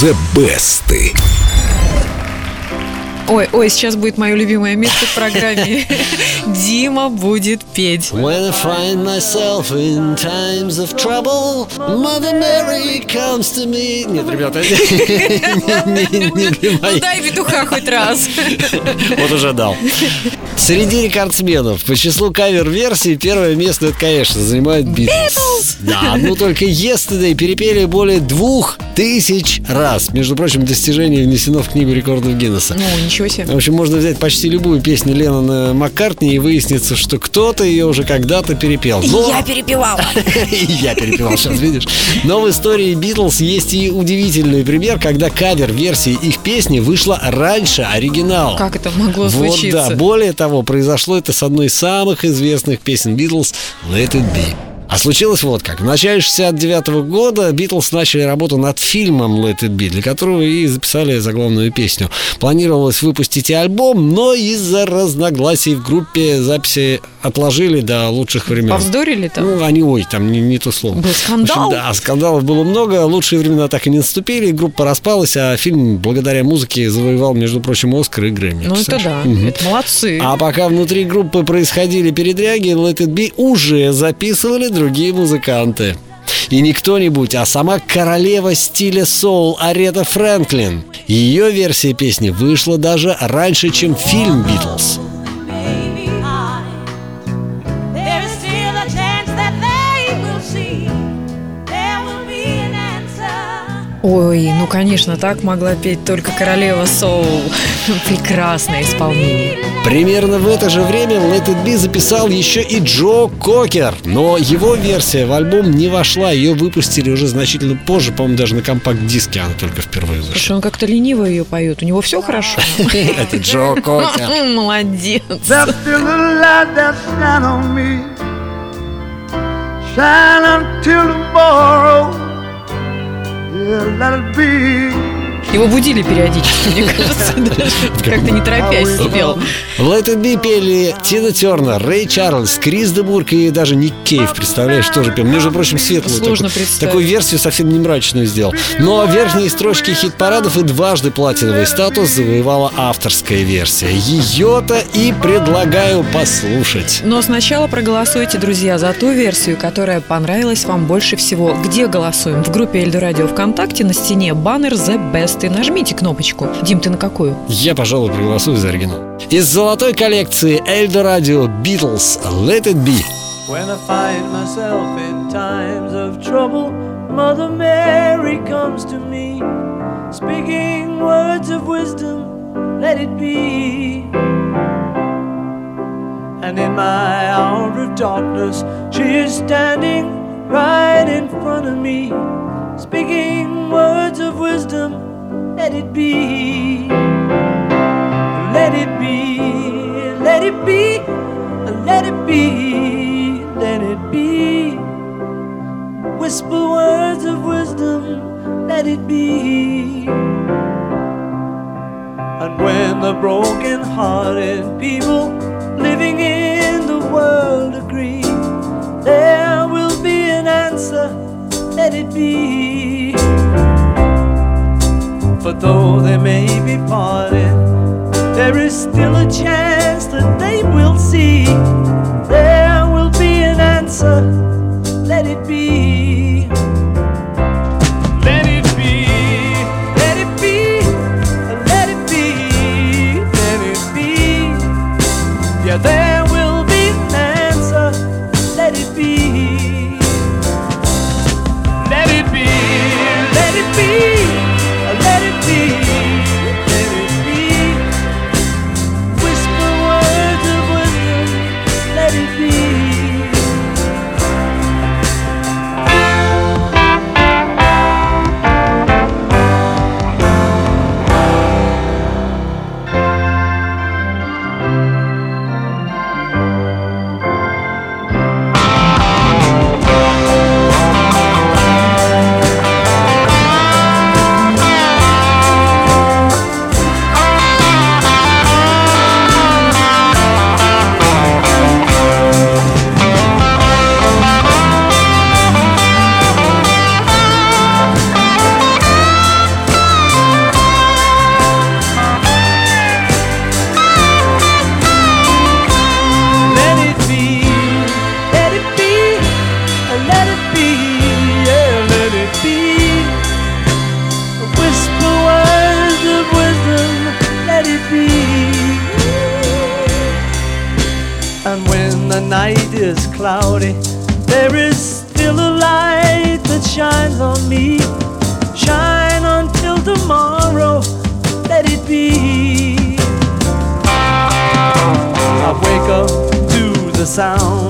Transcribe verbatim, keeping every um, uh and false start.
The Best. Ой, ой, сейчас будет мое любимое место в программе. Дима будет петь. When I find myself in times of trouble, Mother Mary comes to me. Нет, ребята, не для Ну моих. дай петуха хоть раз. Вот уже дал. Среди рекордсменов по числу кавер-версий первое место, это, конечно, занимает Beatles. Да, ну только Yesterday перепели более двух тысяч раз. Между прочим, достижение внесено в книгу рекордов Гиннесса. Ну, ничего себе. В общем, можно взять почти любую песню Леннона Маккартни и выяснится, что кто-то ее уже когда-то перепел. Но... Я перепевала. И я перепевал, сейчас видишь. Но в истории Битлз есть и удивительный пример, когда кавер-версия их песни вышла раньше оригинала. Как это могло случиться? Вот да, более того, произошло это с одной из самых известных песен Битлз «Let It Be». А случилось вот как. В начале шестьдесят девятого года Битлз начали работу над фильмом «Let It Be», для которого и записали заглавную песню. Планировалось выпустить и альбом, но из-за разногласий в группе записи отложили до лучших времен. Повздорили там? Ну, они, ой, там не, не то слово. Был скандал? В общем, да, скандалов было много, лучшие времена так и не наступили, группа распалась, а фильм благодаря музыке завоевал, между прочим, Оскар и Грэмми. Ну это да, Угу. это молодцы. А пока внутри группы происходили передряги, Let It Be уже записывали другие музыканты. И не кто-нибудь, а сама королева стиля соул Арета Фрэнклин. Ее версия песни вышла даже раньше, чем фильм «Битлз». Ой, ну конечно, так могла петь только королева соул. Прекрасное исполнение. Примерно в это же время Let It Be записал еще и Джо Кокер. Но его версия в альбом не вошла. Ее выпустили уже значительно позже. По-моему, даже на компакт-диске она только впервые Потому зашла. что он как-то лениво ее поет. У него все хорошо. Это Джо Кокер. Молодец. There's still a light that shine on me, shine until tomorrow. Yeah, let it be. Его будили периодически, мне кажется, даже как-то не торопясь спел. В Let It Be пели Тина Тернер, Рэй Чарльз, Крис де Бург и даже Ник Кейв. Представляешь, тоже пел. Между прочим, светлую Сложно такую, представить. такую версию, совсем не мрачную сделал. Но верхние строчки хит-парадов и дважды платиновый статус завоевала авторская версия. Ее-то и предлагаю послушать. Но сначала проголосуйте, друзья, за ту версию, которая понравилась вам больше всего. Где голосуем? В группе Эльдо Радио ВКонтакте на стене баннер The Best. И нажмите кнопочку. Дим, ты на какую? Я, пожалуй, проголосую за оригинал. Из золотой коллекции Эльдо Радио Beatles Let It Be. When I find myself in times of trouble, Mother Mary comes to me, speaking words of wisdom, let it be. And in my hour of darkness, she is standing right in front of me, speaking words of wisdom, let it be. Let it be, let it be, let it be, let it be. Whisper words of wisdom, let it be. And when the broken-hearted people living in the world agree, there will be an answer, let it be. For though they may be parted, there is still a chance that they will see. There will be an answer, let it be. Let it be, let it be, let it be, let it be. Yeah, there will be an answer, let it be. Let it be, let it be. Let it be, let it be. Whisper words of wisdom, be, let it be, let it be, yeah, let it be. Whisper words of wisdom, let it be. And when the night is cloudy, there is still a light that shines on me. Shine until tomorrow, let it be. I wake up to the sound